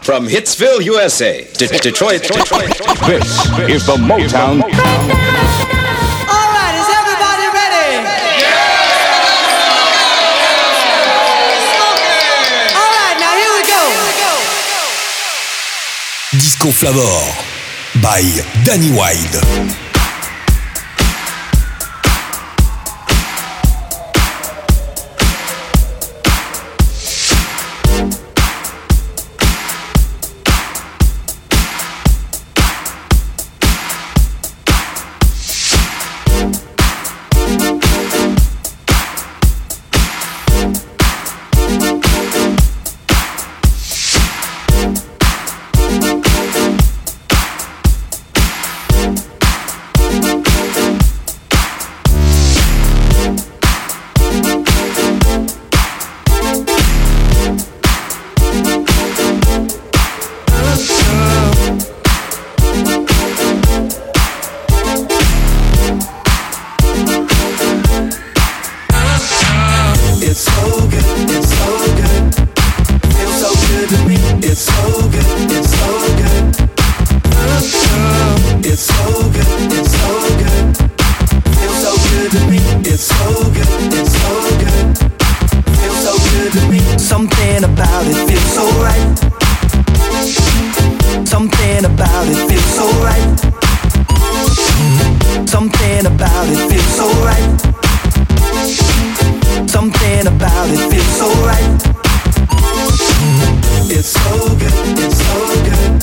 From Hitsville, USA, to Detroit. This is the Motown. All right, is everybody ready? All right, now here we go. Disco Flavor by Danny Wilde. Something about it feels so right. Something about it feels so right. Something about it feels so right. Something about it feels so right. It's so good, it's so good.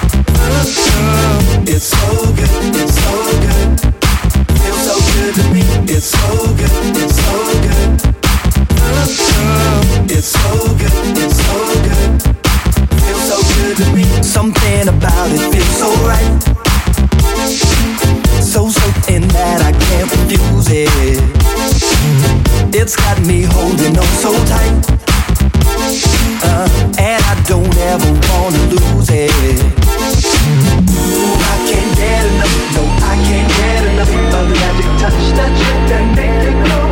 It's so good, it's so good. Feels so good to me. It's so good, it's so good. It's so good, it's so good. Feels so good to me. Something about it feels so right. So certain that I can't refuse it. It's got me holding on so tight. And I don't ever wanna lose it. Ooh, I can't get enough, no, I can't get enough of the magic touch that you can make it go.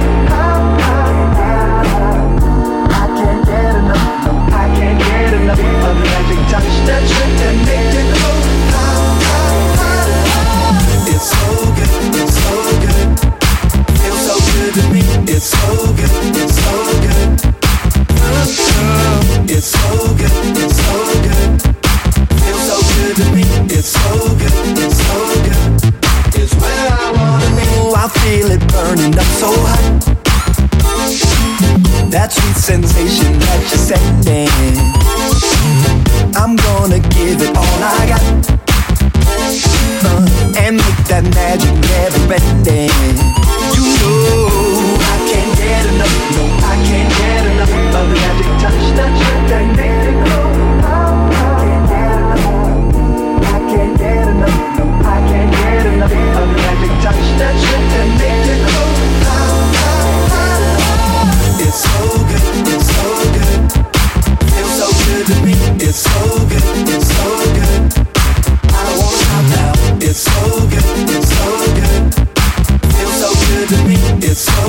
I can't get enough, no, I can't get enough of the magic touch that you can make it go. It's so good, it's so good. Feels so good to me. It's so good, it's so good. It's so good, it's so good. Feels so good to me. It's so good, it's so good. It's where I wanna be. Oh, I feel it burning up so hot. That sweet sensation that you're sending. I'm gonna give it all I got. And make that magic never ending. You know I can't get enough, no, I can't get enough of the magic touch that you can make it go. I can't get enough, no, I can't get enough of the magic touch that you can make it go. It's so good, it's so good. Feels so good to me. It's so good, it's so good. I don't wanna stop now. It's so good, it's so good. Feels so good to me. It's so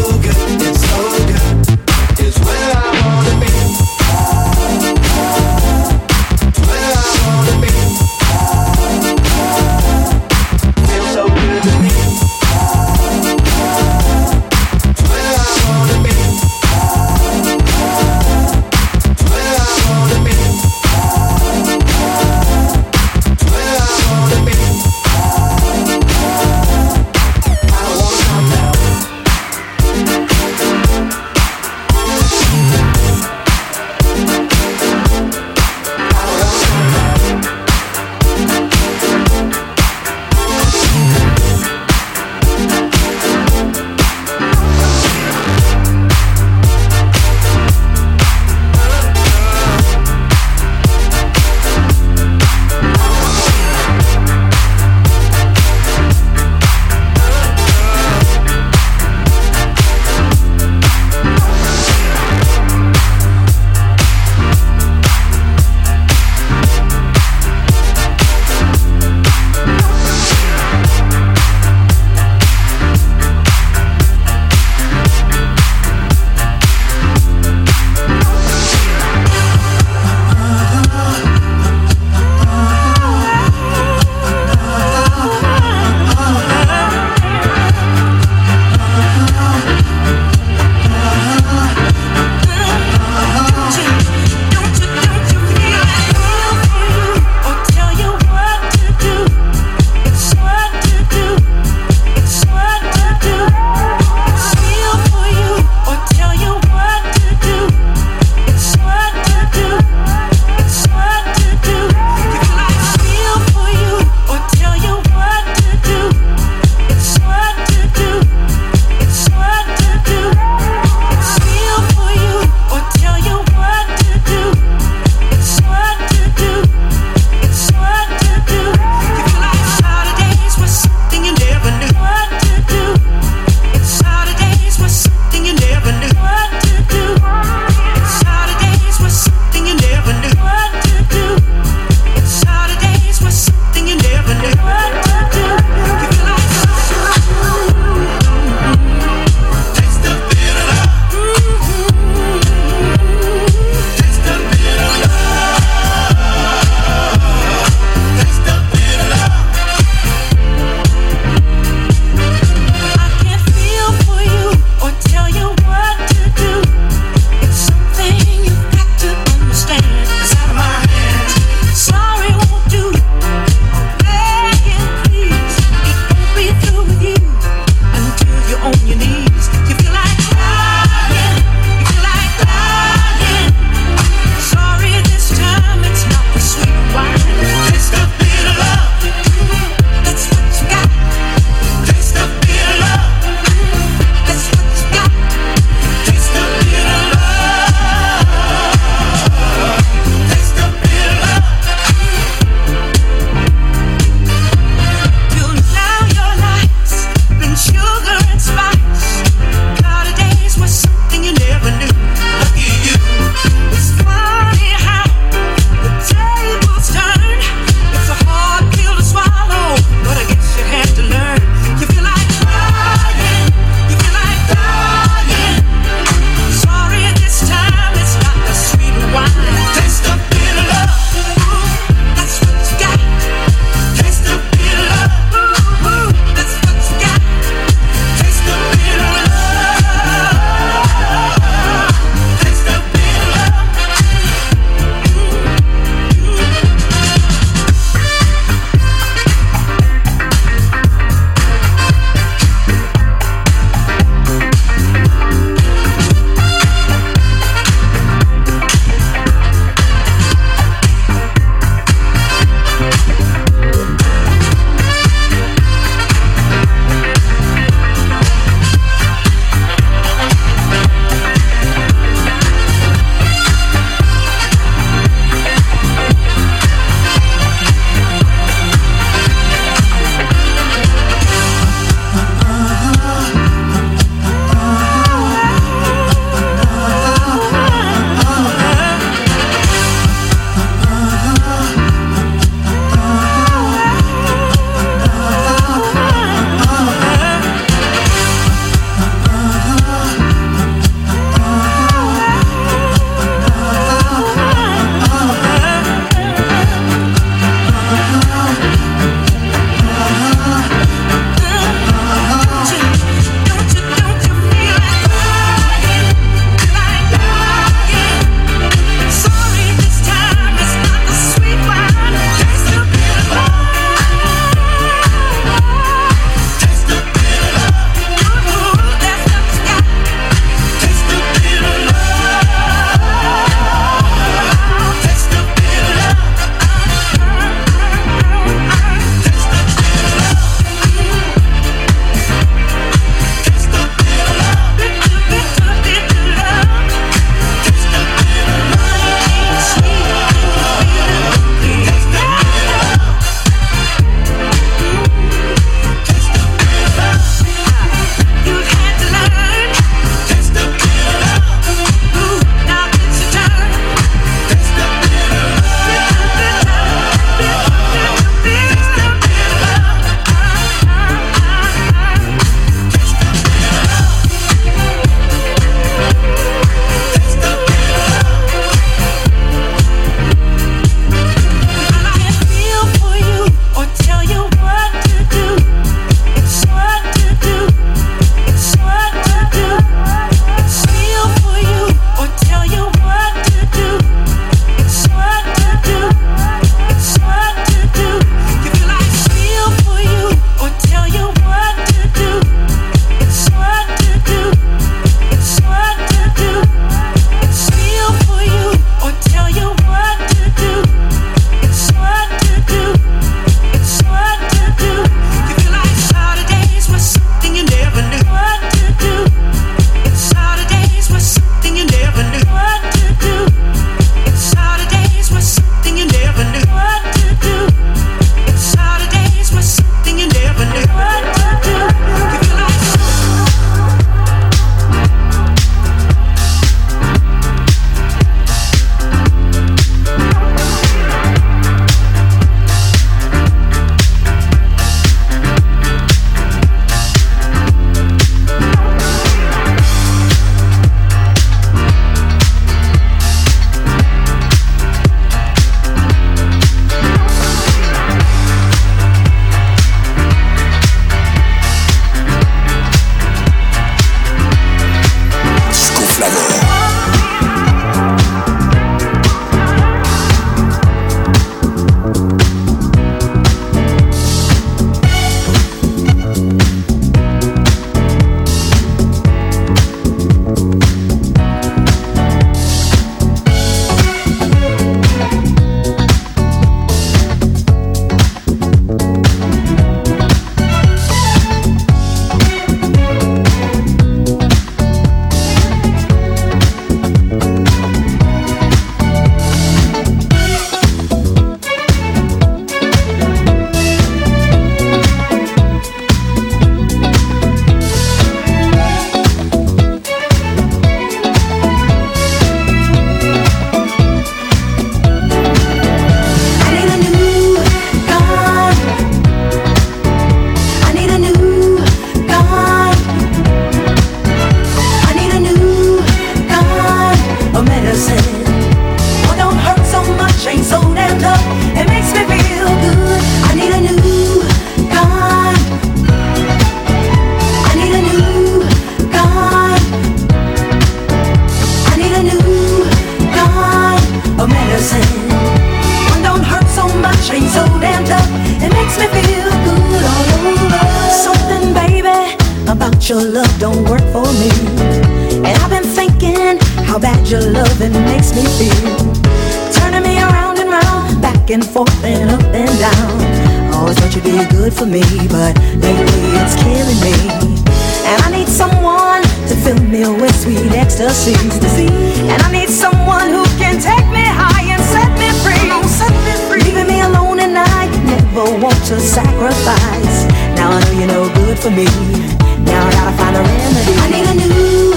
how bad your loving makes me feel. Turning me around and round, back and forth and up and down. Always thought you'd be good for me, but lately it's killing me. And I need someone to fill me with sweet ecstasy. And I need someone who can take me high and set me free. Leaving me alone at night, never want to sacrifice. Now I know you're no good for me. Now I gotta find a remedy. I need a new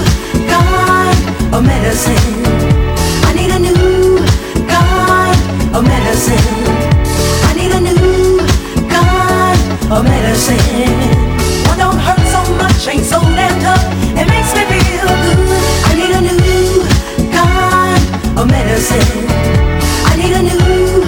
kind of medicine. I need a new kind of medicine. I need a new kind of medicine. One don't hurt so much, ain't so damn tough. It makes me feel good. I need a new kind of medicine. I need a new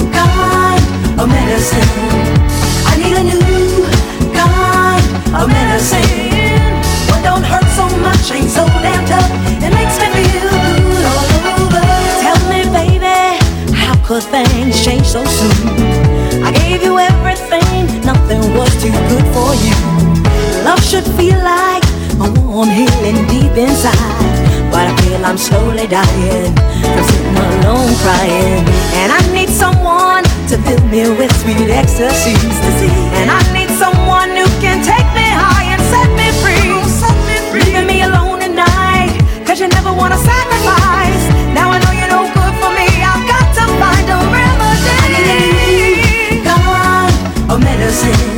kind of medicine. I need a new kind of medicine. One don't hurt so much, ain't so damn tough. It makes me feel good all over. Tell me, baby, how could things change so soon? I gave you everything, nothing was too good for you. Love should feel like a warm healing deep inside, but I feel I'm slowly dying from sitting alone crying. And I need someone to fill me with sweet ecstasy. And I need someone who can take me high and set me free. Leaving me alone at night, cause you never wanna sacrifice. Now I know you're no good for me, I've got to find a remedy. I need a new kind of medicine.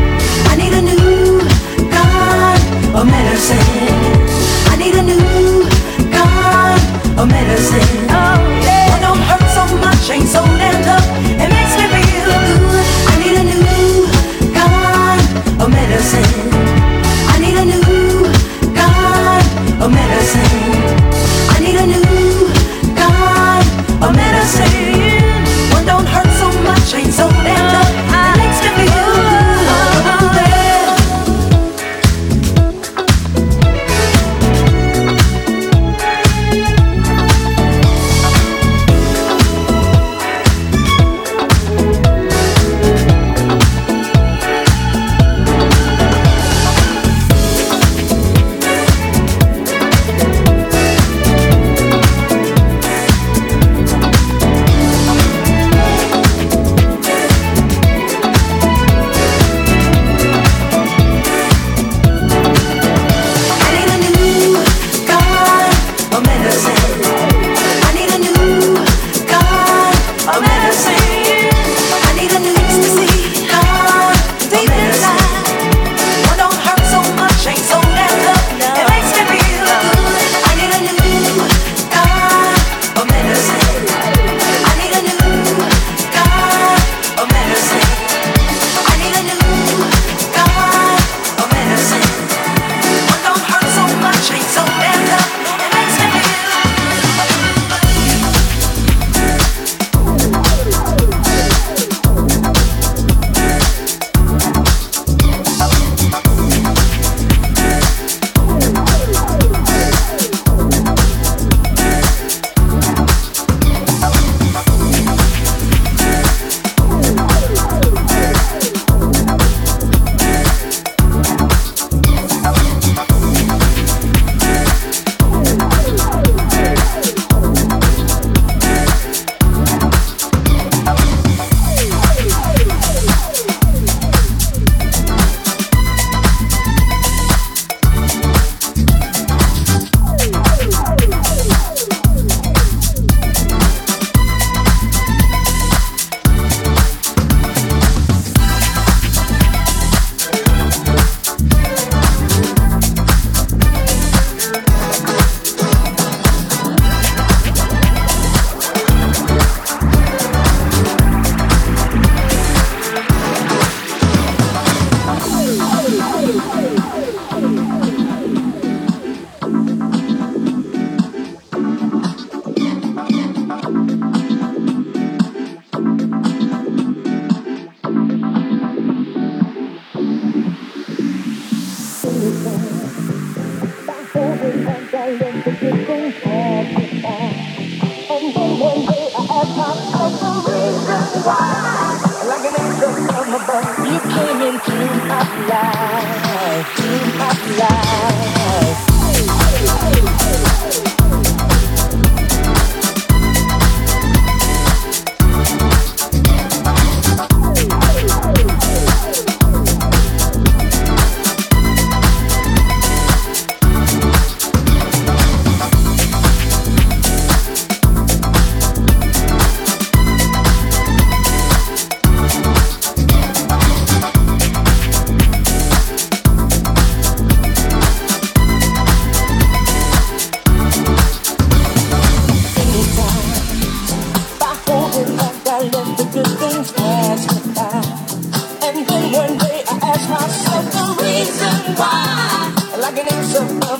I need a new kind of medicine. I need a new kind of medicine. Oh, yeah. One don't hurt so much, ain't so damn tough. It makes me feel good. I need a new kind of medicine. I need a new kind of medicine. I need a new kind of medicine. One don't hurt so much, ain't so damn tough. It makes me feel good. Oh, yeah.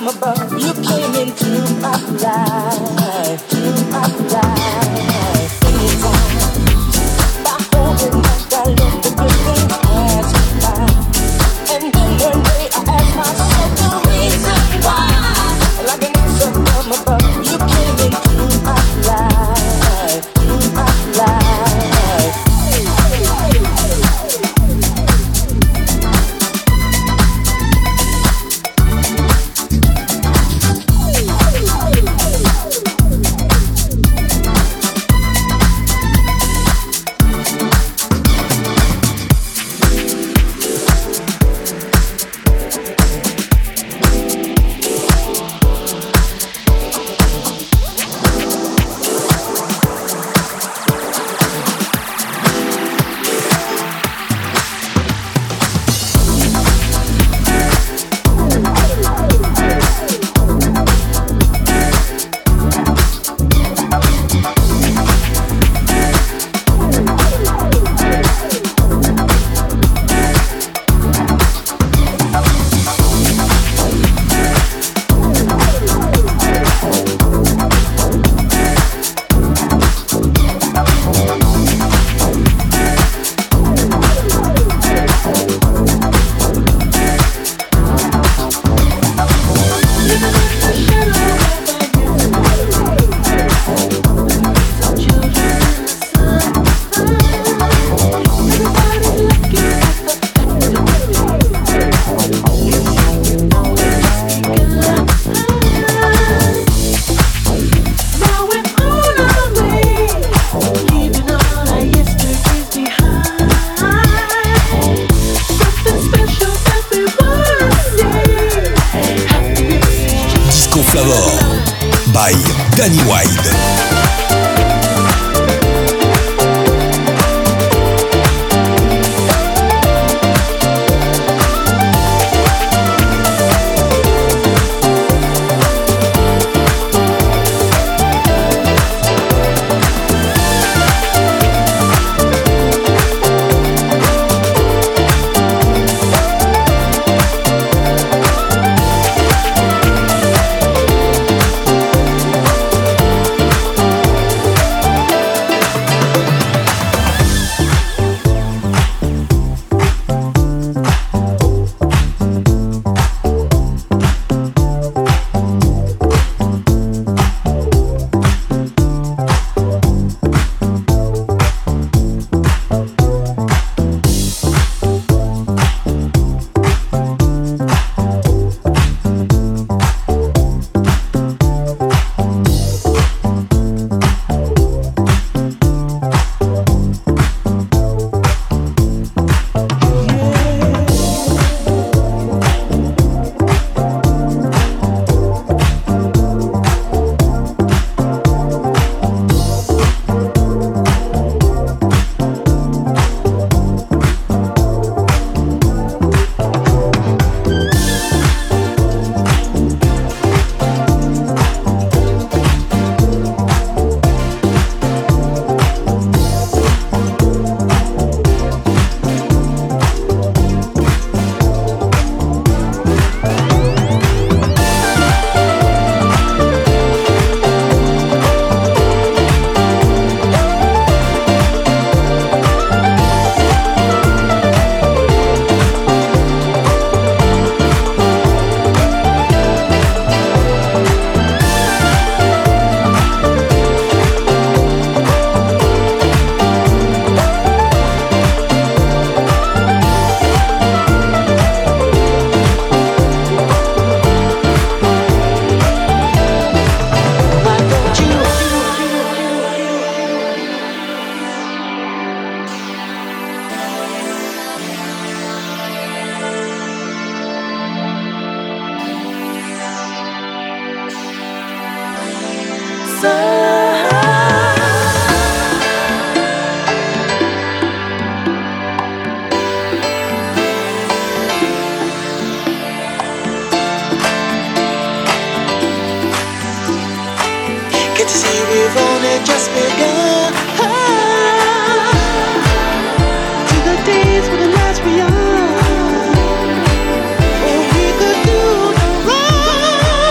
from above. You came into my life, anytime. By holding back, I let the good things pass by. And then one day I asked myself the reason why. Like an answer from above, you came into my life, by Danny Wilde. Beyond, or we could do no wrong.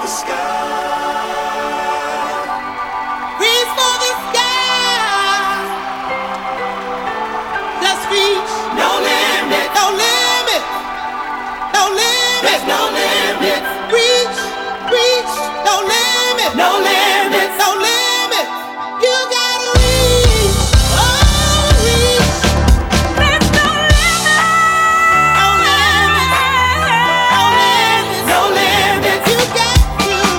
No limits. You got to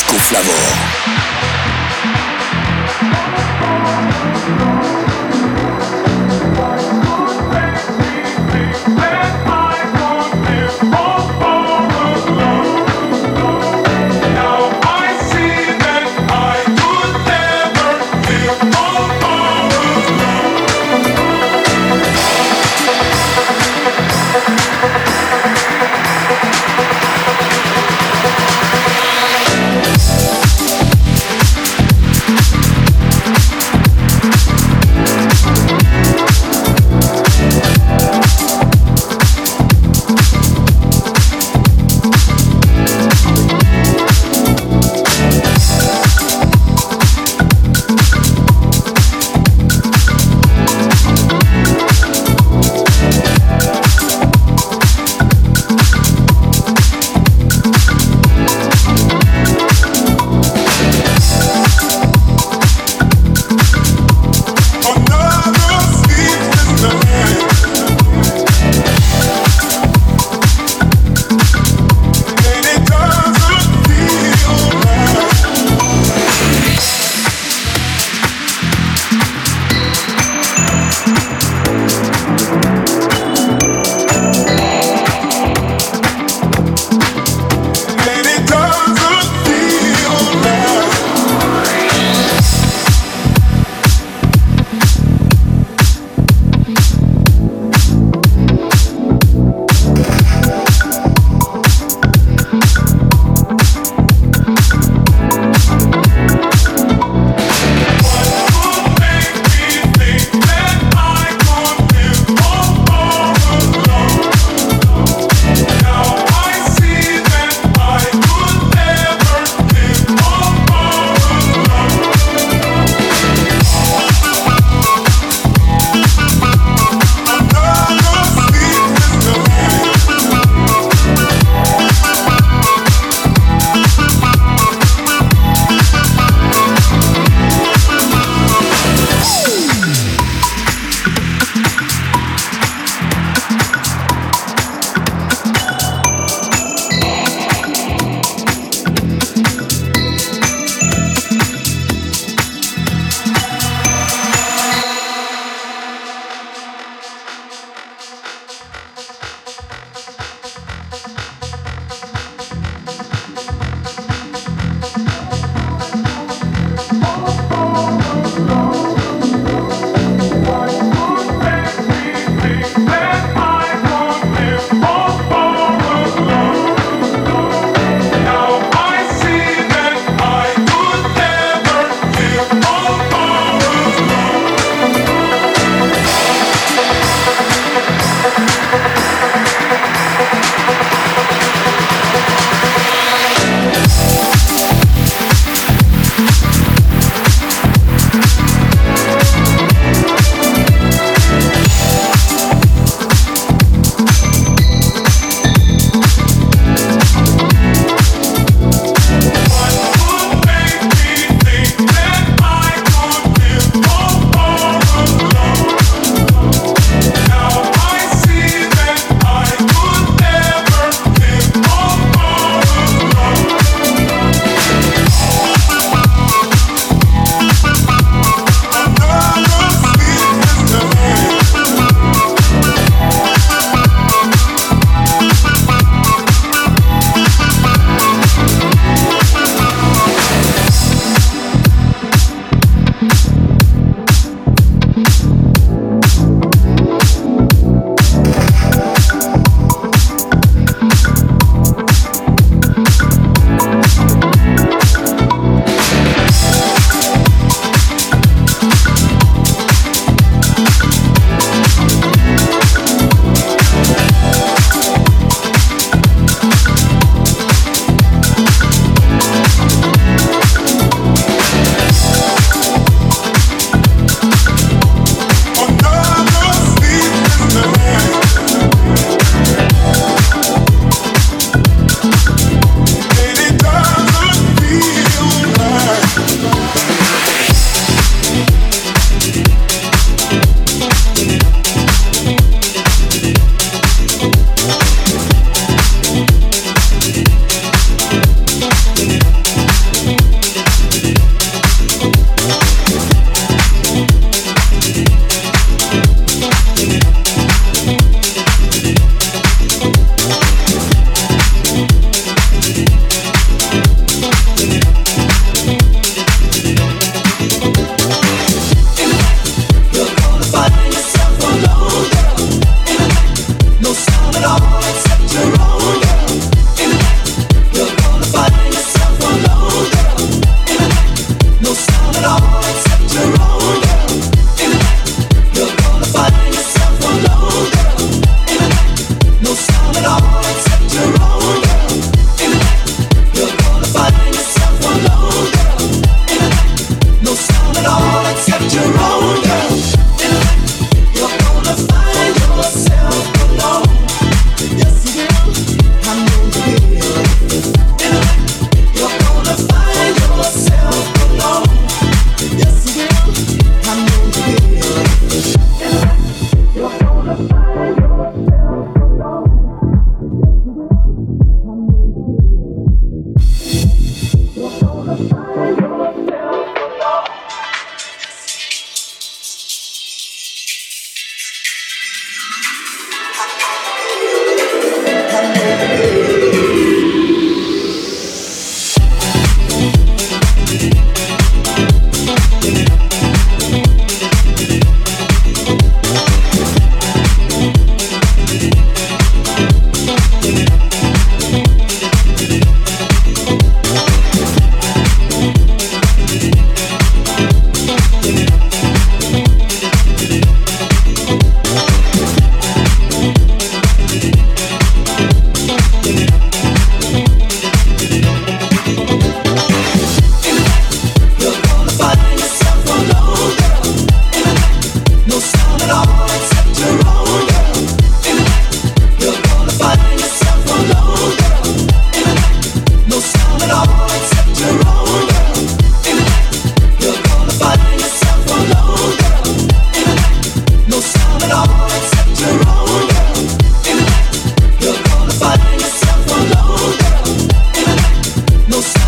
Marco Flavor.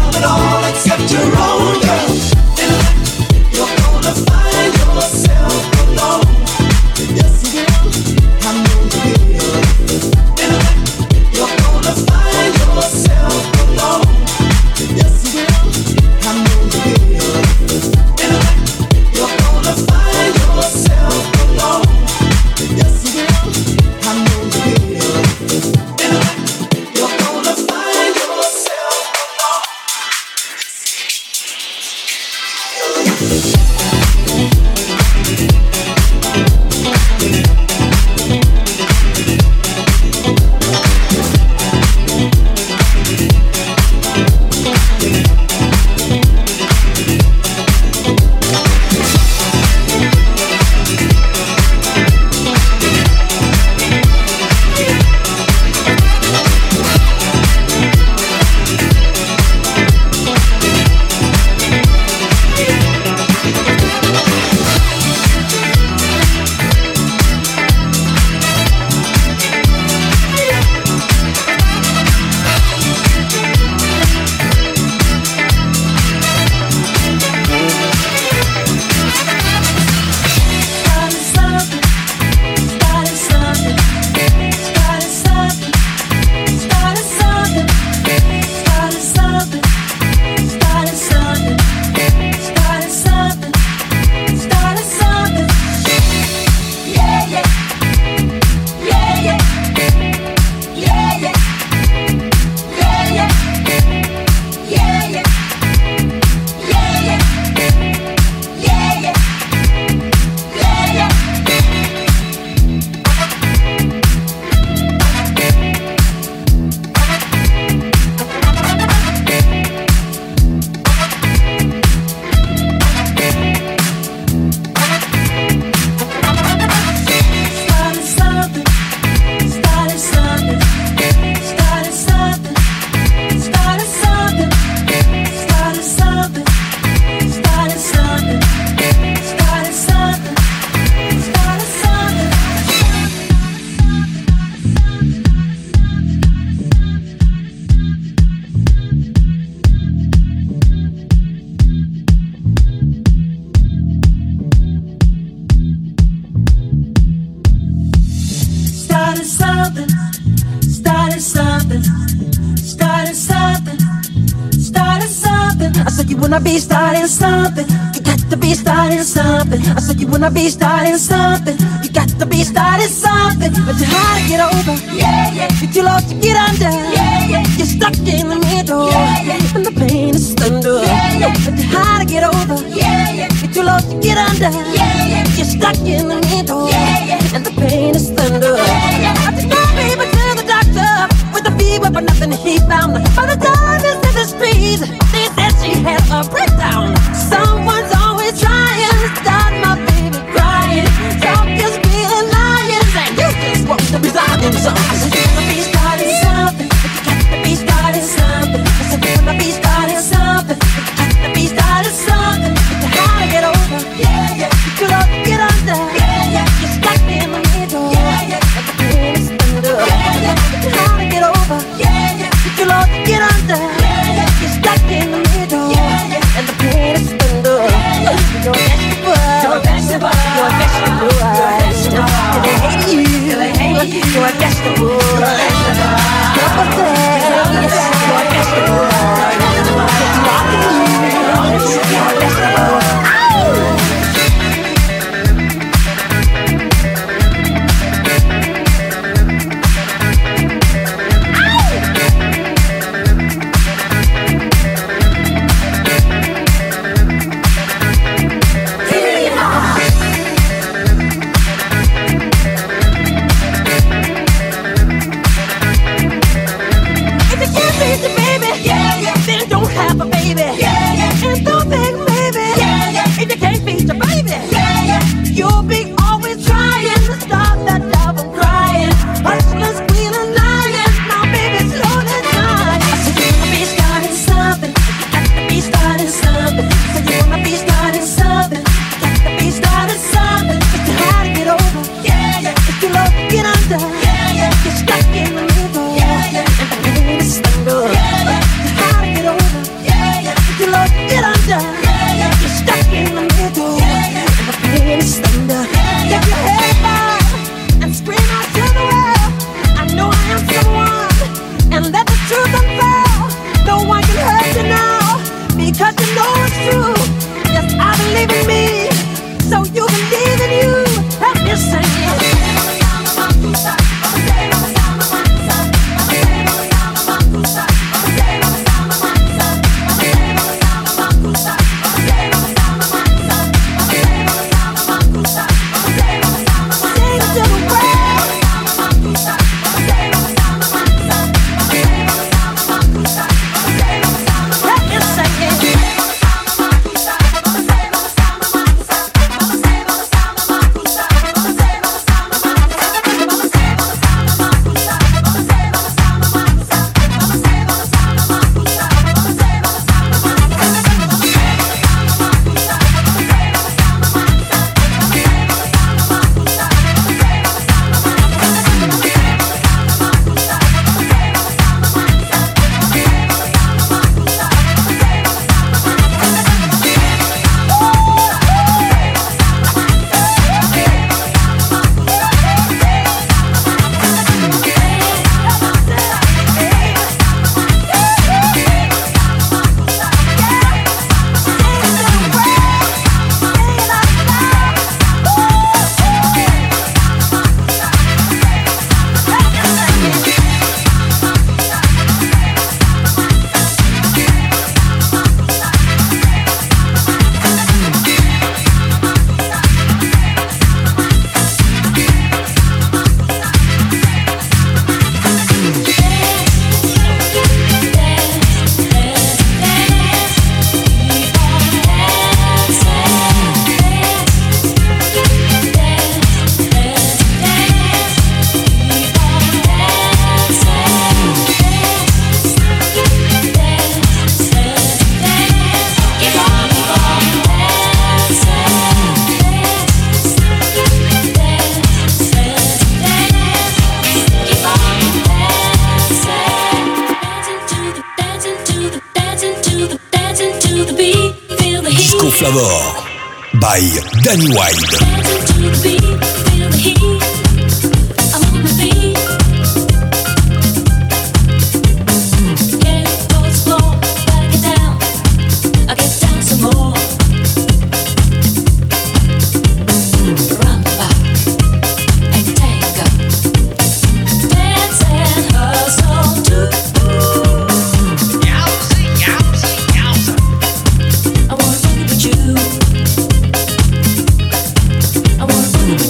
want it all except your own girl. Intellect, you're gonna find yourself alone. Yes, you will. I know you will. Intellect, you're gonna find yourself alone. Yes, you will. I know you will. Intellect, you're gonna find yourself alone. Yes, you will. I know you will. Intellect, you're gonna find yourself alone. wanna be starting something, you got to be starting something. I said you wanna be starting something, you got to be starting something. But you're hard to get over, yeah, yeah. You're too low to get under, yeah, yeah. You're stuck in the middle, yeah, yeah. And the pain is thunder, yeah, yeah. But you're hard to get over, yeah, yeah. You're too low to get under, yeah, yeah. You're stuck in the middle, yeah, yeah. And the pain is thunder, yeah, yeah. I just know, baby, to the doctor with a fever, but nothing he found. By the time it's in the streets, they said she had a breakdown. Someone's always trying to stop my baby crying. Talk is being liars, and you just want to be starting something. I said you wanna be starting something, but you got to be starting something. I said you wanna be starting something, but you got to be starting something. But you how to get over, yeah, yeah. You could have to get under, yeah, yeah. You're stuck in the middle, yeah, yeah. And the pain is thunder, yeah, yeah. But you how to get over, yeah, yeah. You could have to get under, yeah, yeah. You're stuck in the middle, yeah, yeah. And the pain is Flavor by Danny Wilde. I wanna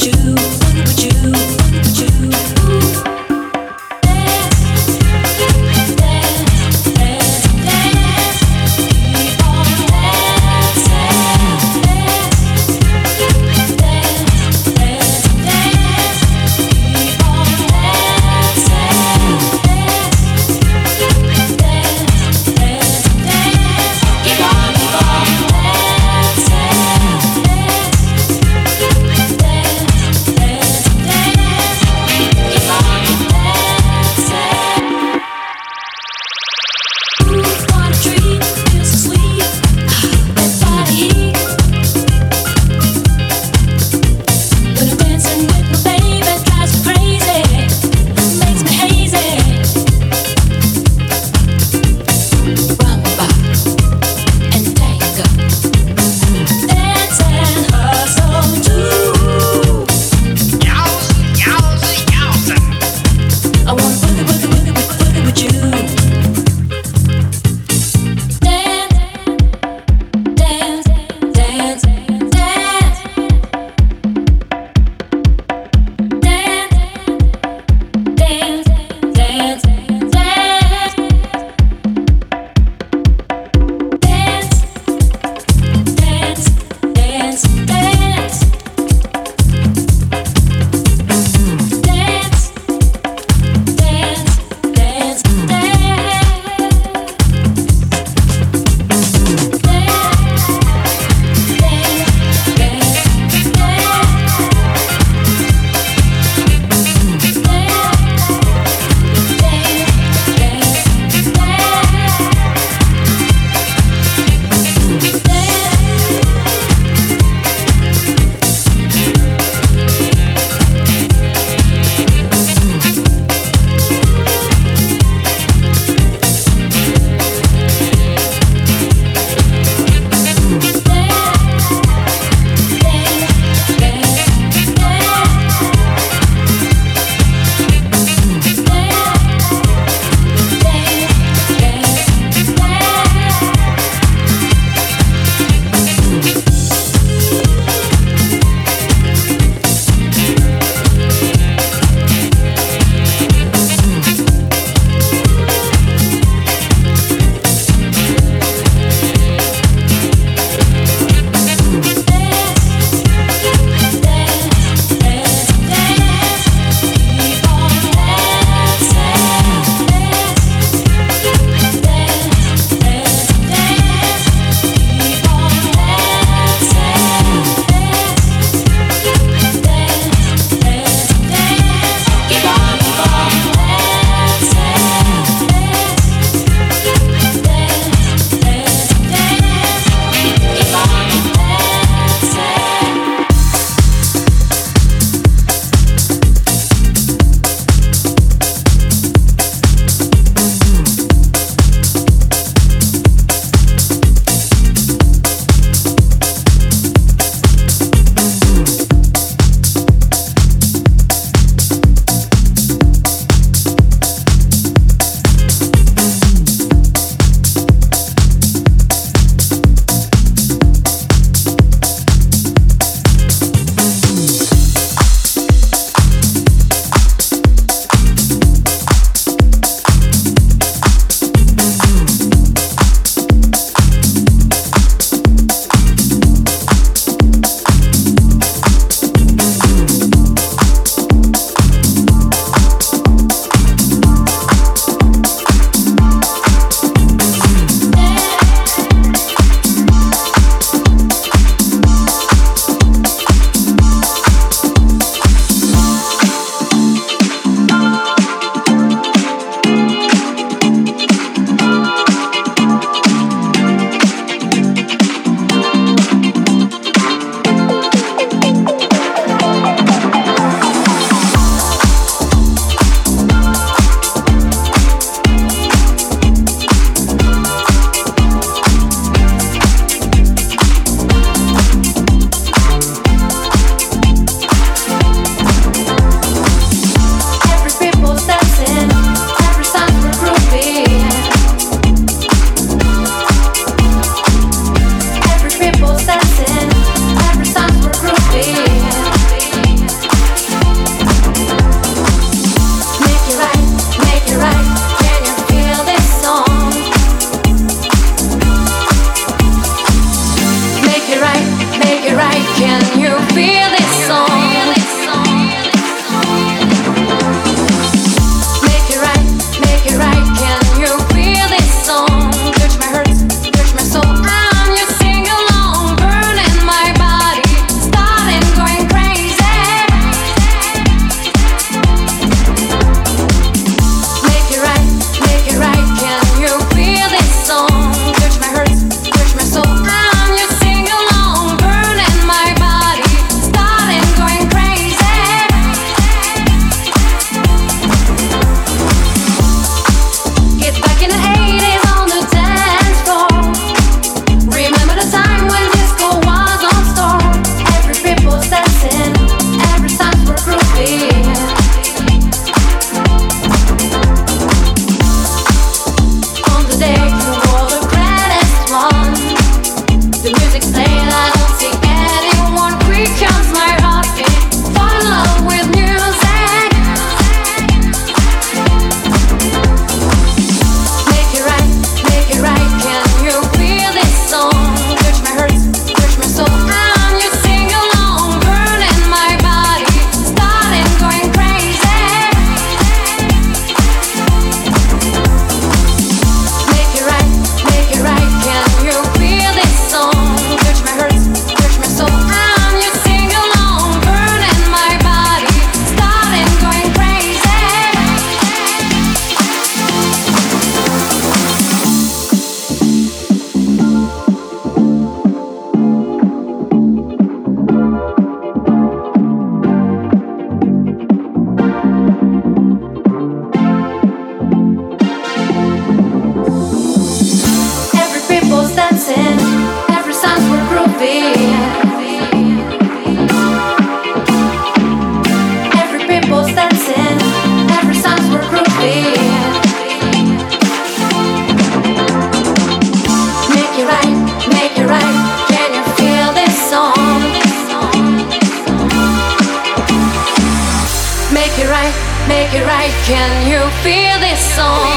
Can you feel this song?